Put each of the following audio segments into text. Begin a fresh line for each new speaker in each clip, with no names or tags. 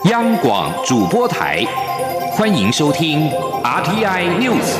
央广主播台，欢迎收听 RTI News。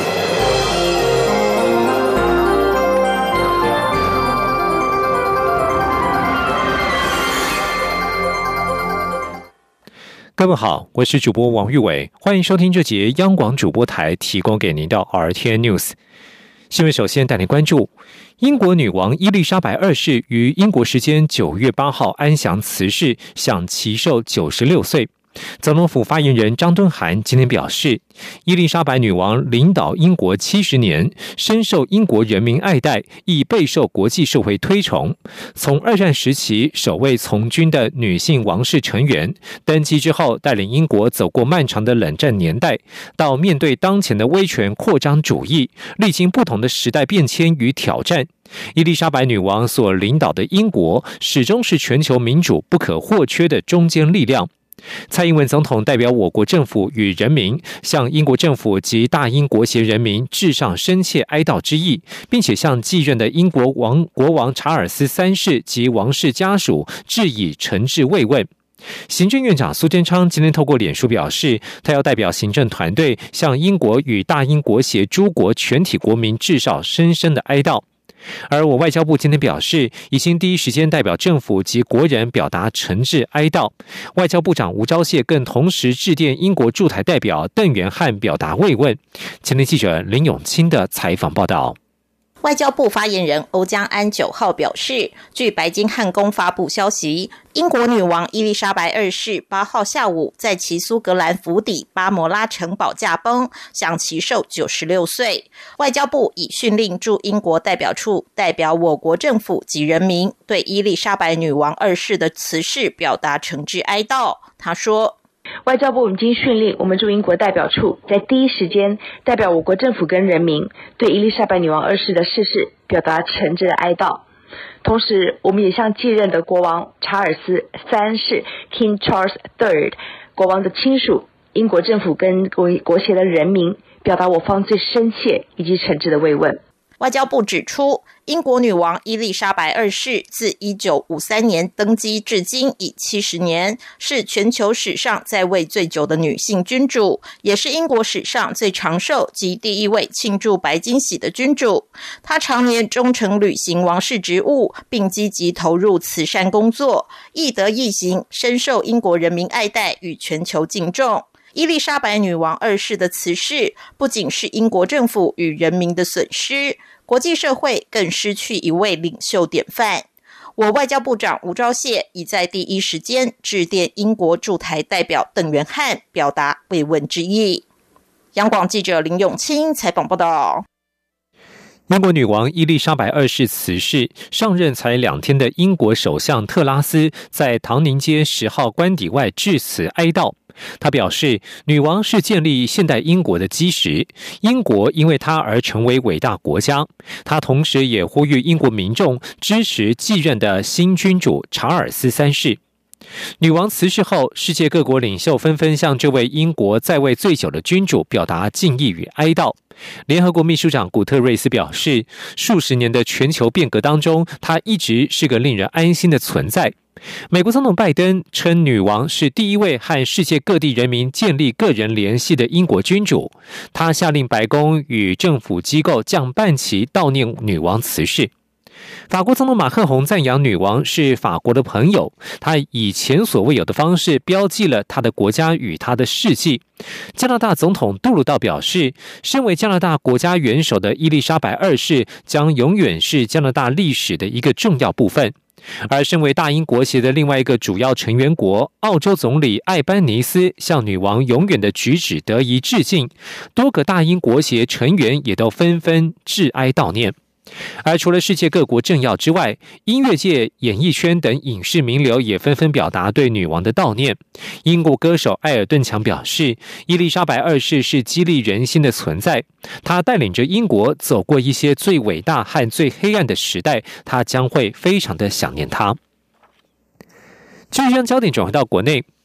各位好，我是主播王玉伟，欢迎收听这节央广主播台提供给您的 RTI News。新闻首先带您关注，英国女王伊丽莎白二世于英国时间9月8号安详辞世，享其寿96岁。总统府发言人张敦涵今天表示，伊丽莎白女王领导英国70年，深受英国人民爱戴，亦备受国际社会推崇。从二战时期首位从军的女性王室成员，登基之后带领英国走过漫长的冷战年代，到面对当前的威权扩张主义，历经不同的时代变迁与挑战。伊丽莎白女王所领导的英国，始终是全球民主不可或缺的中坚力量。蔡英文总统代表我国政府与人民，向英国政府及大英国协人民致上深切哀悼之意，并且向继任的英国国王查尔斯3世及王室家属致以诚挚慰问。行政院长苏贞昌今天透过脸书表示，他要代表行政团队向英国与大英国协诸国全体国民致上深深的哀悼。而我外交部今天表示，已经第一时间代表政府及国人表达诚挚哀悼。外交部长吴钊燮更同时致电英国驻台代表邓元汉表达慰问。前天记者林永清的采访报道。
外交部发言人欧江安9号表示，据白金汉宫发布消息，英国女王伊丽莎白二世8号下午在其苏格兰府邸巴摩拉城堡驾崩，享其寿96岁。外交部已训令驻英国代表处代表我国政府及人民，对伊丽莎白女王二世的辞世表达诚挚哀悼。他说，
外交部已经训令我们驻英国代表处在第一时间代表我国政府跟人民，对伊丽莎白女王二世的逝世表达诚挚的哀悼。同时，我们也向继任的国王查尔斯3世 King Charles III 国王的亲属、英国政府跟国协的人民，表达我方最深切以及诚挚的慰问。
外交部指出，英国女王伊丽莎白二世自1953年登基至今已70年，是全球史上在位最久的女性君主，也是英国史上最长寿及第一位庆祝白金禧的君主。她常年忠诚履行王室职务，并积极投入慈善工作，亦德亦行，深受英国人民爱戴与全球敬重。伊丽莎白女王二世的辞世，不仅是英国政府与人民的损失，国际社会更失去一位领袖典范。我外交部长吴钊燮已在第一时间致电英国驻台代表邓元汉，表达慰问之意。央广记者林永清采访报道。
英国女王伊丽莎白二世辞世，上任才2天的英国首相特拉斯在唐宁街10号官邸外致辞哀悼。他表示，女王是建立现代英国的基石，英国因为她而成为伟大国家。他同时也呼吁英国民众支持继任的新君主查尔斯3世。女王辞世后，世界各国领袖纷纷向这位英国在位最久的君主表达敬意与哀悼。联合国秘书长古特瑞斯表示，数十年的全球变革当中，她一直是个令人安心的存在。美国总统拜登称，女王是第一位和世界各地人民建立个人联系的英国君主。他下令白宫与政府机构降半旗悼念女王辞世。法国总统马克宏赞扬女王是法国的朋友，他以前所未有的方式标记了他的国家与他的事迹。加拿大总统杜鲁道表示，身为加拿大国家元首的伊丽莎白二世将永远是加拿大历史的一个重要部分。而身为大英国协的另外一个主要成员国，澳洲总理艾班尼斯向女王永远的举止得以致敬，多个大英国协成员也都纷纷致哀悼念。而除了世界各国政要之外，音乐界、演艺圈等影视名流也纷纷表达对女王的悼念。英国歌手艾尔顿强表示，伊丽莎白二世是激励人心的存在，她带领着英国走过一些最伟大和最黑暗的时代，她将会非常的想念她。继续将焦点转回到国内，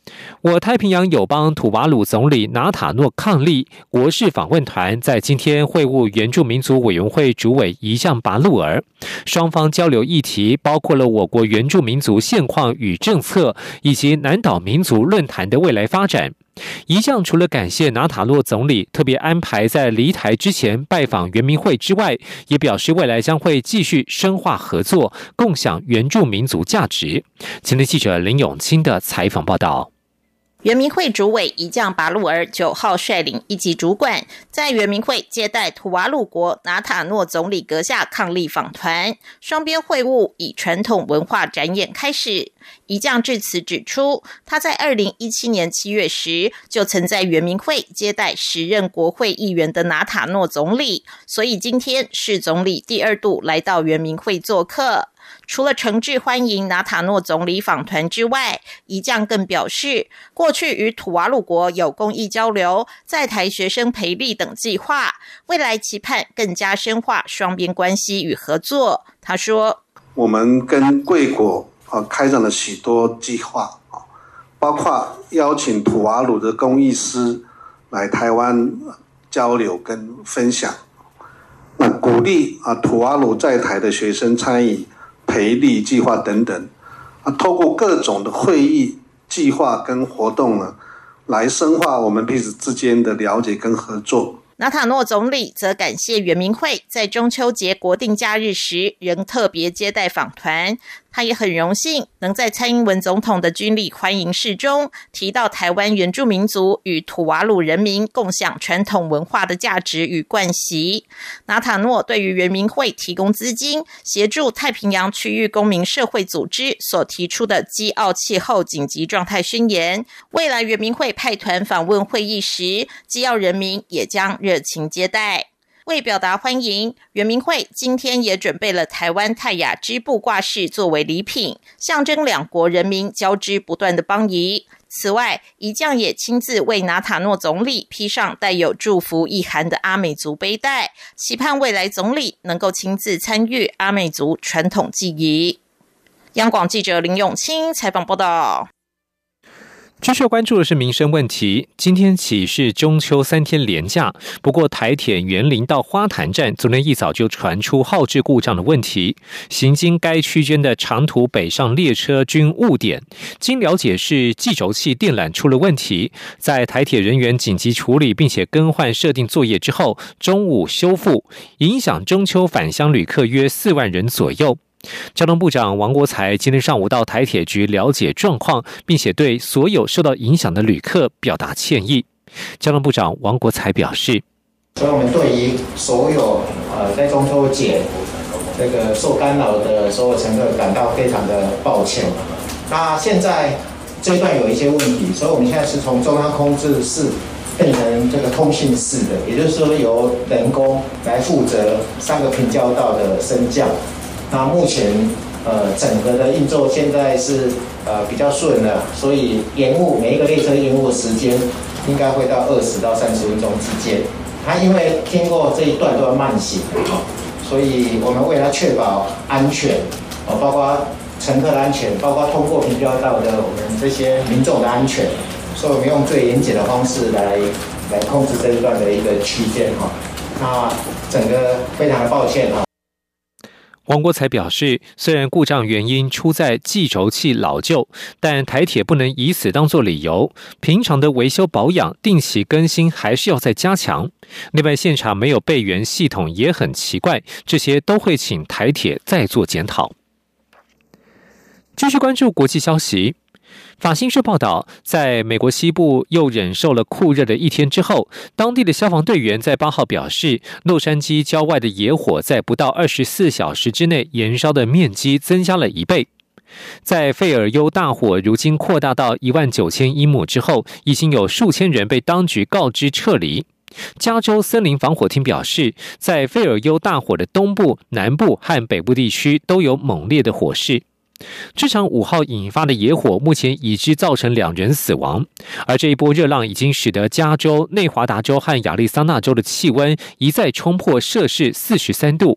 我太平洋友邦土瓦鲁总理纳塔诺伉俪国事访问团在今天会晤原住民族委员会主委仪将拔路尔，双方交流议题包括了我国原住民族现况与政策，以及南岛民族论坛的未来发展。仪将除了感谢纳塔诺总理特别安排在离台之前拜访原民会之外，也表示未来将会继续深化合作，共享原住民族价值。前天记者林永清的采访报道。
原民会主委仪将拔路尔9号率领一级主管，在原民会接待土瓦鲁国纳塔诺总理阁下伉俪访团，双边会晤以传统文化展演开始。仪将致辞指出，他在2017年7月时就曾在原民会接待时任国会议员的纳塔诺总理，所以今天是总理第2度来到原民会做客。除了诚挚欢迎纳塔诺总理访团之外，仪将更表示，过去与土瓦鲁国有公益交流、在台学生培力等计划，未来期盼更加深化双边关系与合作。他说，
我们跟贵国开展了许多计划，包括邀请土瓦鲁的工艺师来台湾交流跟分享，那鼓励土瓦鲁在台的学生参与培力计划等等，透过各种的会议计划跟活动呢，来深化我们彼此之间的了解跟合作。
纳塔诺总理则感谢原民会在中秋节国定假日时仍特别接待访团，他也很荣幸能在蔡英文总统的军礼欢迎式中提到台湾原住民族与土瓦鲁人民共享传统文化的价值与惯习。纳塔诺对于原民会提供资金，协助太平洋区域公民社会组织所提出的基澳气候紧急状态宣言，未来原民会派团访问会议时，基澳人民也将热情接待。为表达欢迎，原民会今天也准备了台湾泰雅织布挂饰作为礼品，象征两国人民交织不断的邦谊。此外，仪将也亲自为纳塔诺总理披上带有祝福意涵的阿美族背带，期盼未来总理能够亲自参与阿美族传统祭仪。央广记者林永清采访报道。
继续关注的是民生问题。今天起是中秋3天连假，不过台铁员林到花坛站昨天一早就传出耗制故障的问题，行经该区间的长途北上列车均误点。经了解是计轴器电缆出了问题，在台铁人员紧急处理并且更换设定作业之后，中午修复，影响中秋返乡旅客约4万人左右。交通部长王国材今天上午到台铁局了解状况，并且对所有受到影响的旅客表达歉意。交通部长王国材表示，
所以我们对于所有在中秋节这个受干扰的所有乘客感到非常的抱歉。那现在这一段有一些问题，所以我们现在是从中央控制室变成这个通信室的，也就是说由人工来负责3个平交道的升降。那目前整个的运作现在是比较顺了，所以延误每一个列车延误的时间应该会到20到30分钟之间。它因为经过这一段都要慢行，所以我们为了确保安全，包括乘客的安全，包括通过平交道的我们这些民众的安全，所以我们用最严谨的方式来控制这一段的一个区间哈。那整个非常的抱歉哈。
王国材表示，虽然故障原因出在计轴器老旧，但台铁不能以此当作理由，平常的维修保养、定期更新还是要再加强。另外，现场没有备援系统也很奇怪，这些都会请台铁再做检讨。继续关注国际消息。法新社报道，在美国西部又忍受了酷热的一天之后，当地的消防队员在8号表示，洛杉矶郊外的野火在不到24小时之内燃烧的面积增加了1倍。在费尔尤大火如今扩大到19000英亩之后，已经有数千人被当局告知撤离。加州森林防火厅表示，在费尔尤大火的东部、南部和北部地区都有猛烈的火势。这场5号引发的野火目前已知造成2人死亡，而这一波热浪已经使得加州、内华达州和亚利桑那州的气温一再冲破摄氏43度。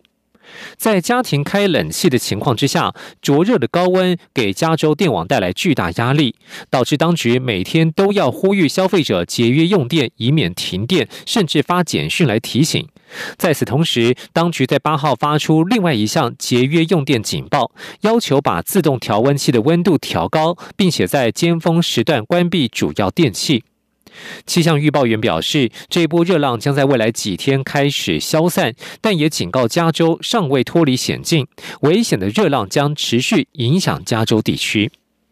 在家庭开冷气的情况之下，灼热的高温给加州电网带来巨大压力，导致当局每天都要呼吁消费者节约用电，以免停电，甚至发简讯来提醒。在此同时，当局在8号发出另外一项节约用电警报，要求把自动调温器的温度调高，并且在尖峰时段关闭主要电器。气象预报员表示，这一波热浪将在未来几天开始消散，但也警告加州尚未脱离险境，危险的热浪将持续影响加州地区。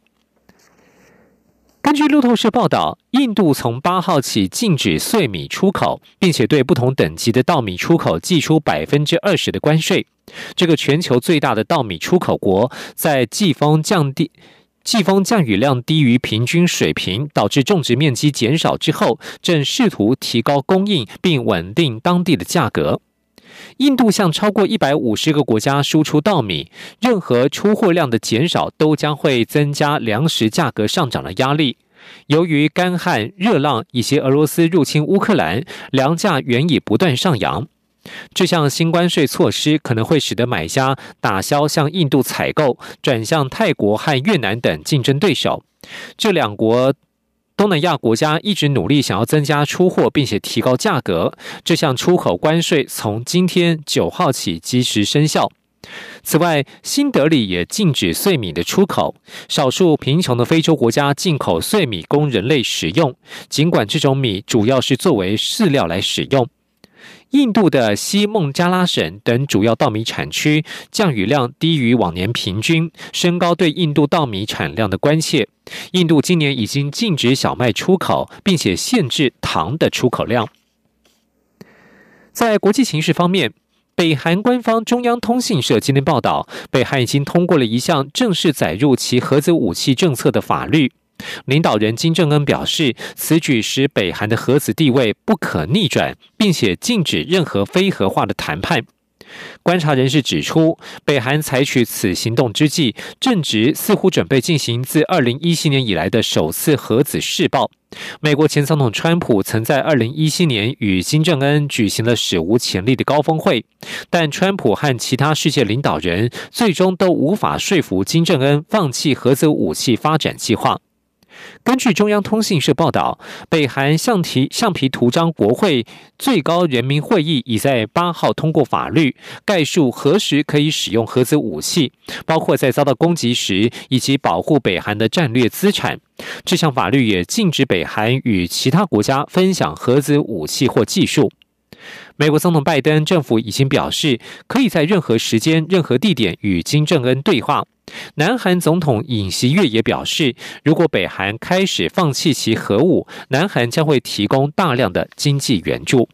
根据路透社报道，印度从8号起禁止碎米出口，并且对不同等级的稻米出口寄出 20% 的关税。这个全球最大的稻米出口国，在季风降雨量低于平均水平，导致种植面积减少之后，正试图提高供应并稳定当地的价格。印度向超过150个国家输出稻米，任何出货量的减少都将会增加粮食价格上涨的压力。由于干旱、热浪以及俄罗斯入侵乌克兰，粮价原已不断上扬。这项新关税措施可能会使得买家打消向印度采购，转向泰国和越南等竞争对手。这两国东南亚国家一直努力想要增加出货，并且提高价格。这项出口关税从今天9号起即时生效。此外，新德里也禁止碎米的出口，少数贫穷的非洲国家进口碎米供人类食用，尽管这种米主要是作为饲料来使用。印度的西孟加拉省等主要稻米产区降雨量低于往年平均，升高对印度稻米产量的关切。印度今年已经禁止小麦出口，并且限制糖的出口量。在国际形势方面，北韩官方中央通信社今天报道，北韩已经通过了一项正式载入其核子武器政策的法律。领导人金正恩表示，此举使北韩的核子地位不可逆转，并且禁止任何非核化的谈判。观察人士指出，北韩采取此行动之际，正值似乎准备进行自2017年以来的首次核子试爆。美国前总统川普曾在2017年与金正恩举行了史无前例的高峰会，但川普和其他世界领导人最终都无法说服金正恩放弃核子武器发展计划。根据中央通信社报道，北韩橡皮图章国会最高人民会议已在8号通过法律，概述何时可以使用核子武器，包括在遭到攻击时，以及保护北韩的战略资产。这项法律也禁止北韩与其他国家分享核子武器或技术。美国总统拜登政府已经表示，可以在任何时间、任何地点与金正恩对话。南韩总统尹锡悦也表示，如果北韩开始放弃其核武，南韩将会提供大量的经济援助。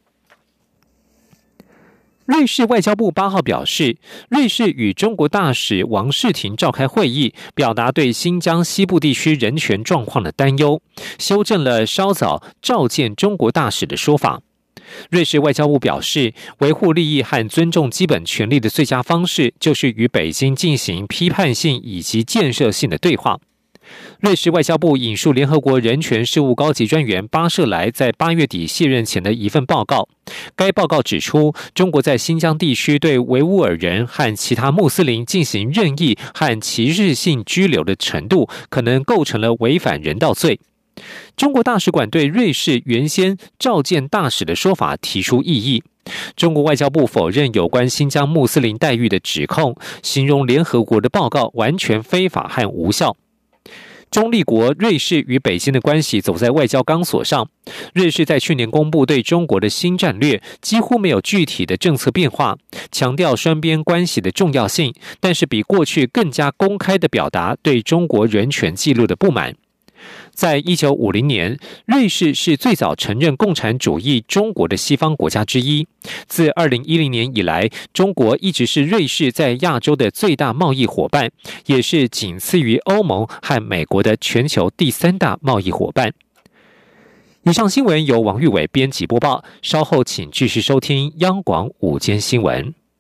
瑞士外交部8号表示，瑞士与中国大使王世廷召开会议，表达对新疆西部地区人权状况的担忧，修正了稍早召见中国大使的说法。瑞士外交部表示，维护利益和尊重基本权利的最佳方式就是与北京进行批判性以及建设性的对话。瑞士外交部引述联合国人权事务高级专员巴舍莱在8月底卸任前的一份报告，该报告指出，中国在新疆地区对维吾尔人和其他穆斯林进行任意和歧视性拘留的程度，可能构成了违反人道罪。中国大使馆对瑞士原先召见大使的说法提出异议。中国外交部否认有关新疆穆斯林待遇的指控，形容联合国的报告完全非法和无效。中立国瑞士与北京的关系走在外交钢索上。瑞士在去年公布对中国的新战略，几乎没有具体的政策变化，强调双边关系的重要性，但是比过去更加公开地表达对中国人权记录的不满。在1950年，瑞士是最早承认共产主义中国的西方国家之一。自2010年以来，中国一直是瑞士在亚洲的最大贸易伙伴，也是仅次于欧盟和美国的全球第3大贸易伙伴。以上新闻由王玉伟编辑播报，稍后请继续收听央广午间新闻。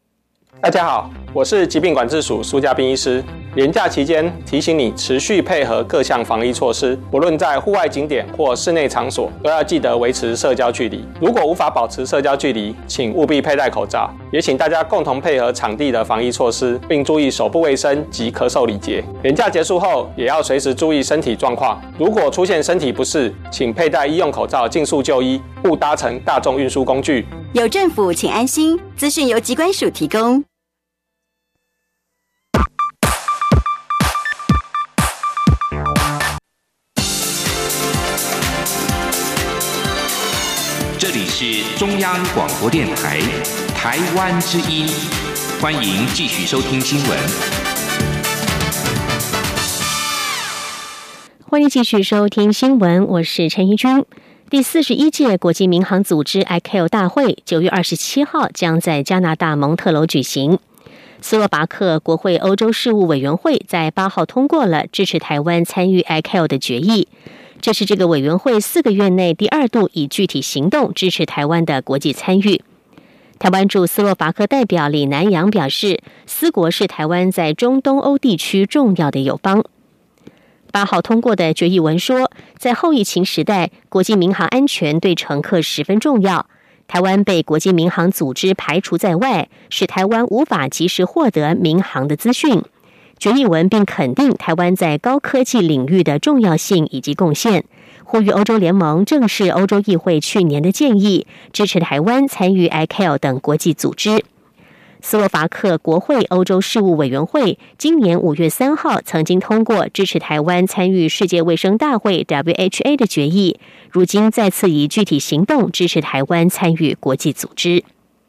大家好，我是疾病管制署苏家彬医师。连假期间提醒你持续配合各项防疫措施，不论在户外景点或室内场所，都要记得维持社交距离。如果无法保持社交距离，请务必佩戴口罩。也请大家共同配合场地的防疫措施，并注意手部卫生及咳嗽礼节。连假结束后，也要随时注意身体状况。如果出现身体不适，请佩戴医用口罩，尽速就医，勿搭乘大众运输工具。
有政府，请安心。资讯由疾管署提供。
这里是中央广播电台台湾之音，欢迎继续收听新闻。
欢迎继续收听新闻，我是陈怡君。第41届国际民航组织 ICAO 大会9月27号将在加拿大蒙特楼举行。斯洛伐克国会欧洲事务委员会在8号通过了支持台湾参与 ICAO 的决议。这是这个委员会4个月内第2度以具体行动支持台湾的国际参与。台湾驻斯洛伐克代表李南洋表示，斯国是台湾在中东欧地区重要的友邦。8号通过的决议文说，在后疫情时代，国际民航安全对乘客十分重要。台湾被国际民航组织排除在外，使台湾无法及时获得民航的资讯。决议文并肯定台湾在高科技领域的重要性以及贡献，呼吁欧洲联盟正视欧洲议会去年的建议，支持台湾参与 ICAO 等国际组织。斯洛伐克国会欧洲事务委员会今年5月3号曾经通过支持台湾参与世界卫生大会 WHA 的决议，如今再次以具体行动支持台湾参与国际组织。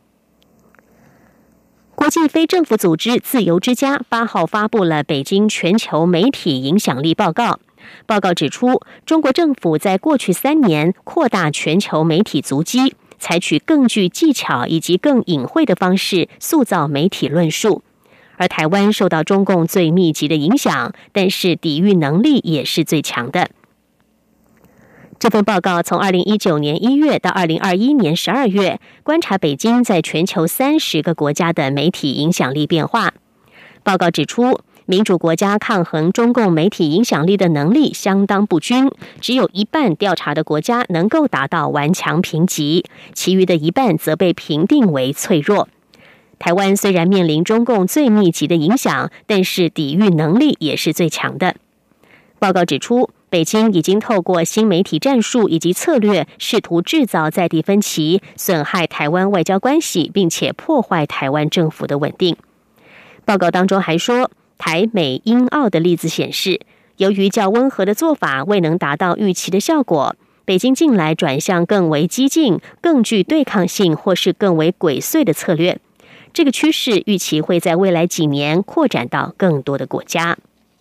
国际非政府组织自由之家8号发布了北京全球媒体影响力报告。报告指出，中国政府在过去3年扩大全球媒体足迹，采取更具技巧以及更隐晦的方式塑造媒体论述。而台湾受到中共最密集的影响，但是抵御能力也是最强的。这份报告从2019年1月到2021年12月，观察北京在全球30个国家的媒体影响力变化。报告指出，民主国家抗衡中共媒体影响力的能力相当不均，只有一半调查的国家能够达到顽强评级，其余的一半则被评定为脆弱。台湾虽然面临中共最密集的影响，但是抵御能力也是最强的。报告指出，北京已经透过新媒体战术以及策略，试图制造在地分歧，损害台湾外交关系，并且破坏台湾政府的稳定。报告当中还说，台美英澳的例子显示，由于较温和的做法未能达到预期的效果，北京近来转向更为激进、更具对抗性或是更为鬼祟的策略。这个趋势预期会在未来几年扩展到更多的国家。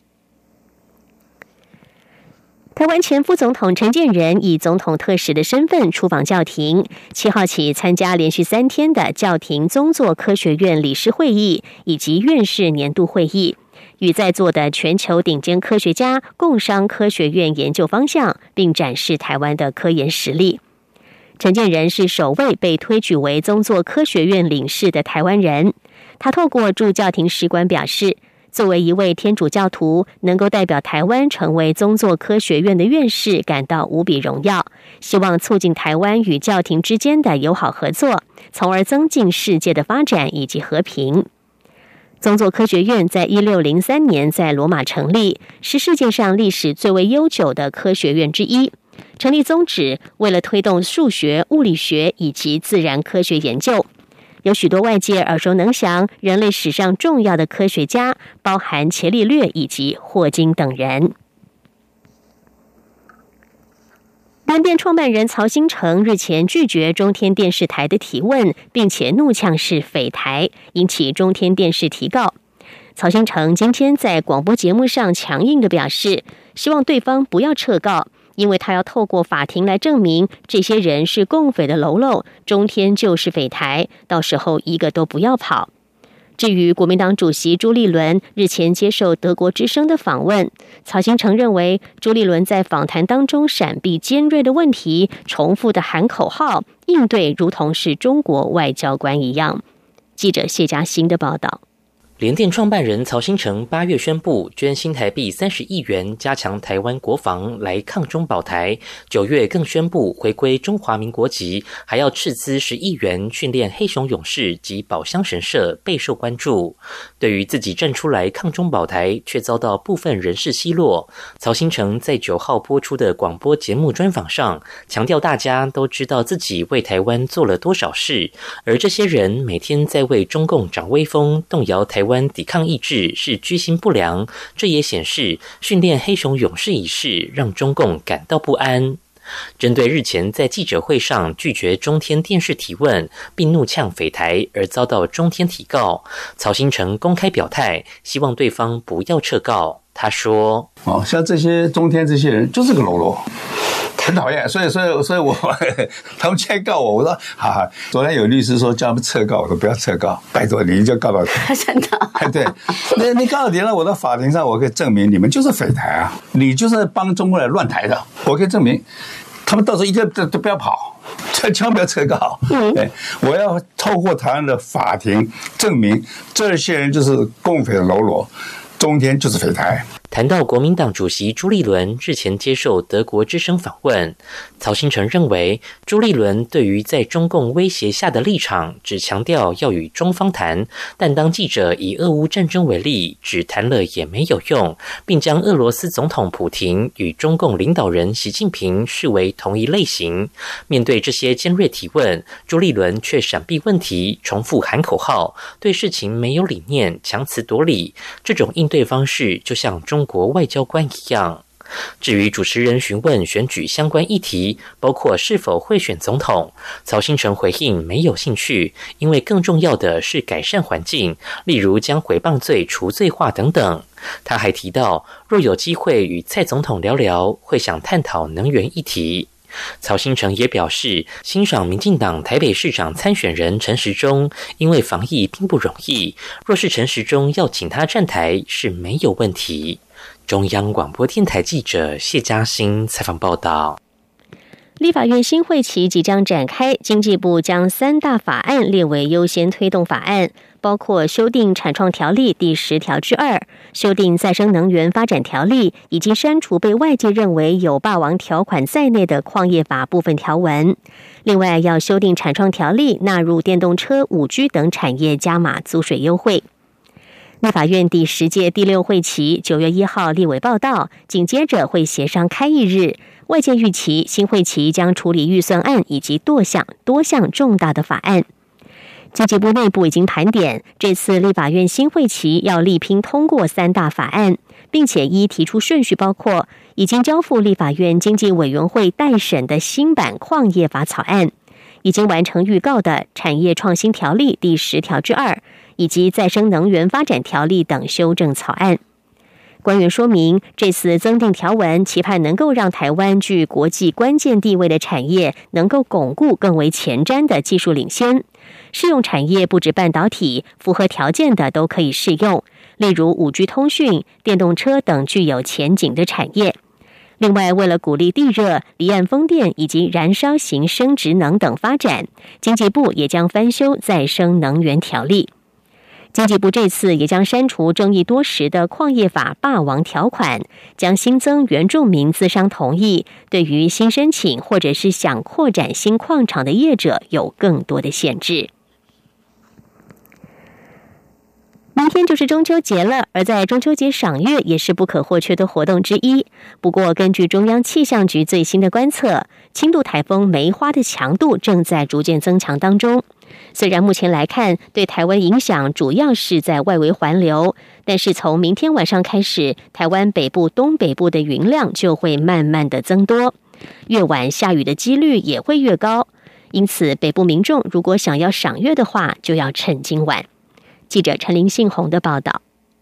台湾前副总统陈建仁以总统特使的身份出访教廷，7号起参加连续3天的教廷宗座科学院理事会议以及院士年度会议，与在座的全球顶尖科学家共商科学院研究方向，并展示台湾的科研实力。陈建仁是首位被推举为宗座科学院领事的台湾人。他透过驻教廷使馆表示，作为一位天主教徒，能够代表台湾成为宗座科学院的院士，感到无比荣耀，希望促进台湾与教廷之间的友好合作，从而增进世界的发展以及和平。宗座科学院在1603年在罗马成立，是世界上历史最为悠久的科学院之一。成立宗旨为了推动数学、物理学以及自然科学研究。有许多外界耳熟能详人类史上重要的科学家，包含伽利略以及霍金等人。联电创办人曹兴诚日前拒绝中天电视台的提问，并且怒呛是匪台，引起中天电视提告。曹兴诚今天在广播节目上强硬地表示，希望对方不要撤告，因为他要透过法庭来证明这些人是共匪的喽啰，中天就是匪台，到时候一个都不要跑。至于国民党主席朱立伦日前接受德国之声的访问，曹兴诚认为朱立伦在访谈当中闪避尖锐的问题，重复的喊口号，应对如同是中国外交官一样。 记者谢嘉欣的报道。
联电创办人曹兴诚8月宣布捐新台币30亿元加强台湾国防来抗中保台，9月更宣布回归中华民国籍，还要斥资10亿元训练黑熊勇士及宝箱神社，备受关注。对于自己站出来抗中保台却遭到部分人士奚落，曹兴诚在9号播出的广播节目专访上强调，大家都知道自己为台湾做了多少事，而这些人每天在为中共掌威风，动摇台湾抵抗意志是居心不良，这也显示训练黑熊勇士一事让中共感到不安。针对日前在记者会上拒绝中天电视提问并怒呛匪台而遭到中天提告，曹兴诚公开表态，希望对方不要撤告。他说：
像这些中天这些人就是个喽啰，很讨厌，所以我他们现在告我，我说哈哈。昨天有律师说叫他们撤告，我说不要撤告，拜托你就告到底。
真的？
对，你告到底了，我到法庭上我可以证明你们就是匪台啊，你就是帮中国人乱台的，我可以证明。他们到时候一个都不要跑，千万不要撤告。我要透过台湾的法庭证明这些人就是共匪的喽啰，中天就是匪台。
谈到国民党主席朱立伦日前接受德国之声访问，曹兴诚认为朱立伦对于在中共威胁下的立场只强调要与中方谈，但当记者以俄乌战争为例，只谈了也没有用，并将俄罗斯总统普亭与中共领导人习近平视为同一类型。面对这些尖锐提问，朱立伦却闪避问题，重复喊口号，对事情没有理念，强词夺理，这种应对方式就像中国外交官一样。至于主持人询问选举相关议题，包括是否会选总统，曹兴诚回应没有兴趣，因为更重要的是改善环境，例如将诽谤罪除罪化等等。他还提到，若有机会与蔡总统聊聊，会想探讨能源议题。曹兴诚也表示，欣赏民进党台北市长参选人陈时中，因为防疫并不容易，若是陈时中要请他站台是没有问题。中央广播电台记者谢嘉欣采访报道。
立法院新会期即将展开，经济部将3大法案列为优先推动法案，包括修订产创条例第10条之2，修订再生能源发展条例，以及删除被外界认为有霸王条款在内的矿业法部分条文。另外，要修订产创条例，纳入电动车、5G 等产业加码租税优惠。立法院第10届第6会期9月1号立委报到，紧接着会协商开议日。外界预期新会期将处理预算案以及多项重大的法案。经济部内部已经盘点，这次立法院新会期要力拼通过3大法案，并且依提出顺序，包括已经交付立法院经济委员会待审的新版矿业法草案，已经完成预告的产业创新条例第10条之2，以及再生能源发展条例等修正草案。官员说明，这次增订条文，期盼能够让台湾具国际关键地位的产业能够巩固更为前瞻的技术领先。适用产业不止半导体，符合条件的都可以适用，例如 5G 通讯、电动车等具有前景的产业。另外，为了鼓励地热、离岸风电以及燃烧型生质能等发展，经济部也将翻修再生能源条例。经济部这次也将删除争议多时的矿业法霸王条款，将新增原住民资商同意，对于新申请或者是想扩展新矿场的业者有更多的限制。明天就是中秋节了，而在中秋节赏月也是不可或缺的活动之一。不过，根据中央气象局最新的观测，轻度台风梅花的强度正在逐渐增强当中。虽然目前来看，对台湾影响主要是在外围环流，但是从明天晚上开始，台湾北部、东北部的云量就会慢慢的增多，越晚下雨的几率也会越高。因此，北部民众如果想要赏月的话，就要趁今晚。记者陈林信宏的报道。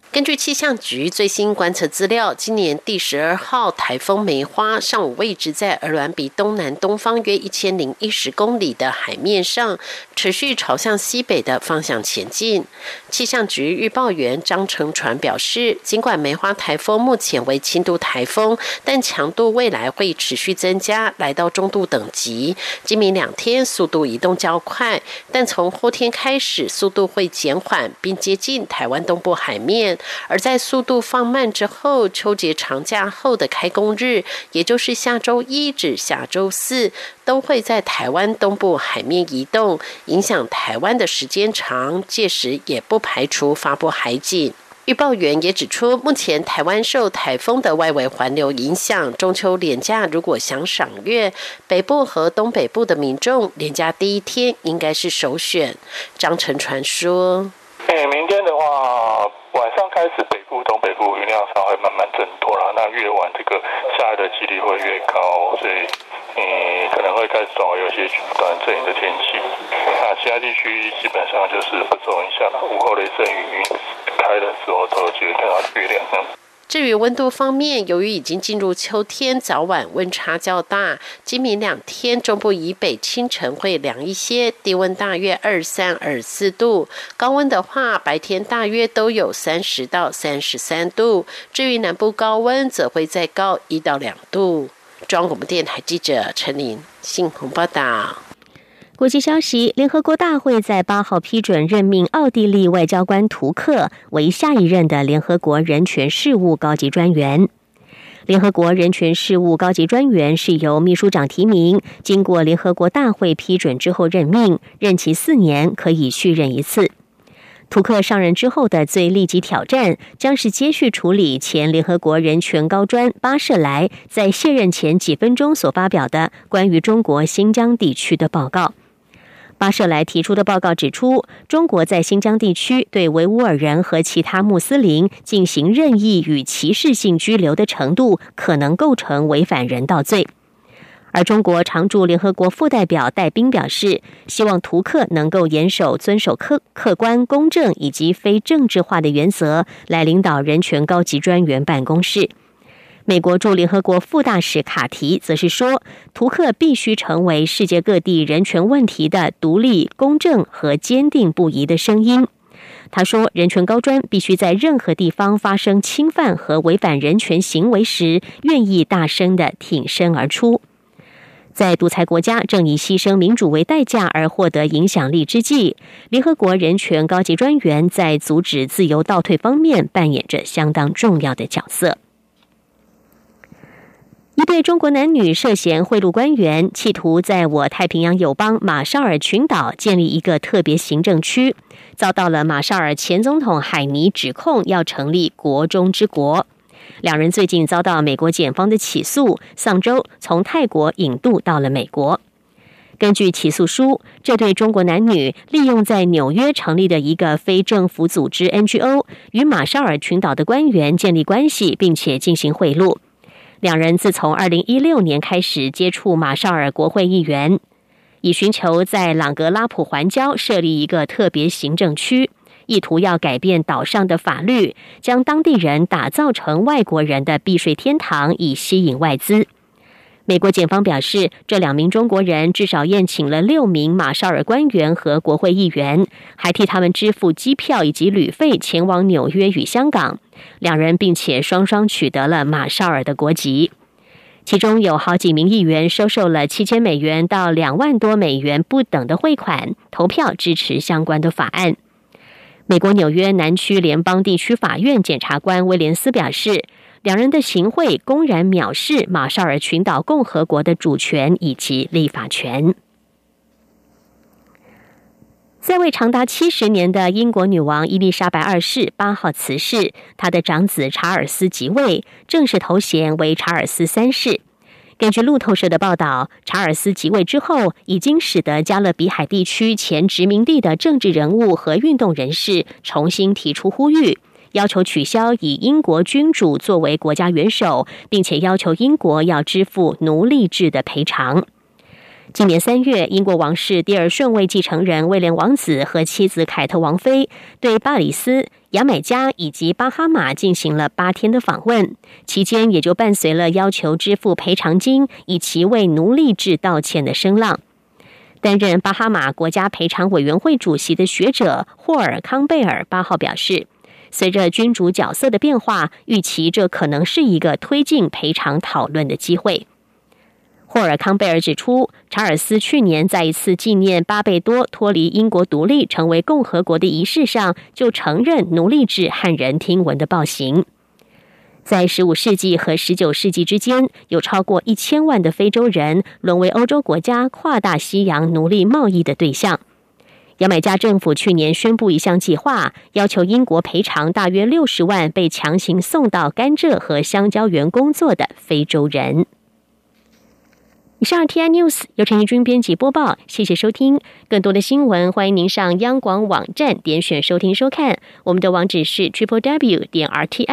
根据气象局最新观测资料，今年第12号台风梅花上午位置在鹅銮鼻东南东方约1010公里的海面上，持续朝向西北的方向前进。气象局预报员张成传表示，尽管梅花台风目前为轻度台风，但强度未来会持续增加，来到中度等级。今明2天速度移动较快，但从后天开始速度会减缓，并接近台湾东部海面。而在速度放慢之后，秋节长假后的开工日，也就是下周1至下周4，都会在台湾东部海面移动，影响台湾的时间长，届时也不排除发布海警。预报员也指出，目前台湾受台风的外围环流影响，中秋连假如果想赏月，北部和东北部的民众连假第一天应该是首选。张成传说，
明天的话，晚上开始北部、东北部云量上会慢慢增多了，那越晚这个下雨的几率会越高，所以可能会开始转为有些短阵雨的天气。那其他地区基本上就是不受影响了，午后雷阵雨开的时候都有机会看到月亮。
至于温度方面，由于已经进入秋天，早晚温差较大，今明2天中部以北清晨会凉一些，低温大约23、24度，高温的话白天大约都有30到33度，至于南部高温则会再高1到2度。中央广播电台记者陈琳信鸿报道。
国际消息，联合国大会在8号批准任命奥地利外交官图克为下一任的联合国人权事务高级专员。联合国人权事务高级专员是由秘书长提名，经过联合国大会批准之后任命，任期4年，可以续任1次。图克上任之后的最立即挑战，将是接续处理前联合国人权高专巴舍莱在卸任前几分钟所发表的关于中国新疆地区的报告。巴舍莱提出的报告指出，中国在新疆地区对维吾尔人和其他穆斯林进行任意与歧视性拘留的程度，可能构成违反人道罪。而中国常驻联合国副代表戴斌表示，希望图克能够遵守客观、公正以及非政治化的原则，来领导人权高级专员办公室。美国驻联合国副大使卡提则是说，图克必须成为世界各地人权问题的独立、公正和坚定不移的声音。他说，人权高专必须在任何地方发生侵犯和违反人权行为时，愿意大声地挺身而出。在独裁国家正以牺牲民主为代价而获得影响力之际，联合国人权高级专员在阻止自由倒退方面扮演着相当重要的角色。一对中国男女涉嫌贿赂官员，企图在我太平洋友邦马绍尔群岛建立一个特别行政区，遭到了马绍尔前总统海尼指控要成立国中之国。两人最近遭到美国检方的起诉，上周从泰国引渡到了美国。根据起诉书，这对中国男女利用在纽约成立的一个非政府组织 NGO， 与马绍尔群岛的官员建立关系，并且进行贿赂。两人自从2016年开始接触马绍尔国会议员，以寻求在朗格拉普环礁设立一个特别行政区，意图要改变岛上的法律，将当地人打造成外国人的避税天堂，以吸引外资。美国检方表示，这2名中国人至少宴请了6名马绍尔官员和国会议员，还替他们支付机票以及旅费前往纽约与香港。两人并且双双取得了马绍尔的国籍。其中有好几名议员收受了7000美元到2万多美元不等的汇款，投票支持相关的法案。美国纽约南区联邦地区法院检察官威廉斯表示，两人的行贿公然藐视马绍尔群岛共和国的主权以及立法权。在位长达70年的英国女王伊丽莎白2世8号辞世，她的长子查尔斯即位，正式头衔为查尔斯3世。根据路透社的报道，查尔斯即位之后，已经使得加勒比海地区前殖民地的政治人物和运动人士重新提出呼吁，要求取消以英国君主作为国家元首，并且要求英国要支付奴隶制的赔偿。今年3月，英国王室第2顺位继承人威廉王子和妻子凯特王妃对巴里斯、 牙买加以及巴哈马进行了8天的访问，期间也就伴随了要求支付赔偿金以其为奴隶制道歉的声浪。担任巴哈马国家赔偿委员会主席的学者霍尔康贝尔8号表示，随着君主角色的变化，预期这可能是一个推进赔偿讨论的机会。霍尔康贝尔指出，查尔斯去年在一次纪念巴贝多脱离英国独立成为共和国的仪式上，就承认奴隶制骇人听闻的暴行。在15世纪和19世纪之间，有超过1000万的非洲人沦为欧洲国家跨大西洋奴隶贸易的对象。牙买加政府去年宣布一项计划，要求英国赔偿大约60万被强行送到甘蔗和香蕉园工作的非洲人。以上 TI News 由陈怡君编辑播报，谢谢收听。更多的新闻，欢迎您上央广网站点选收听收看。我们的网址是 www.rti